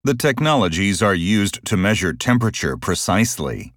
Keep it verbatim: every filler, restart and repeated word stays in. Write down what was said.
The technologies are used to measure temperature precisely.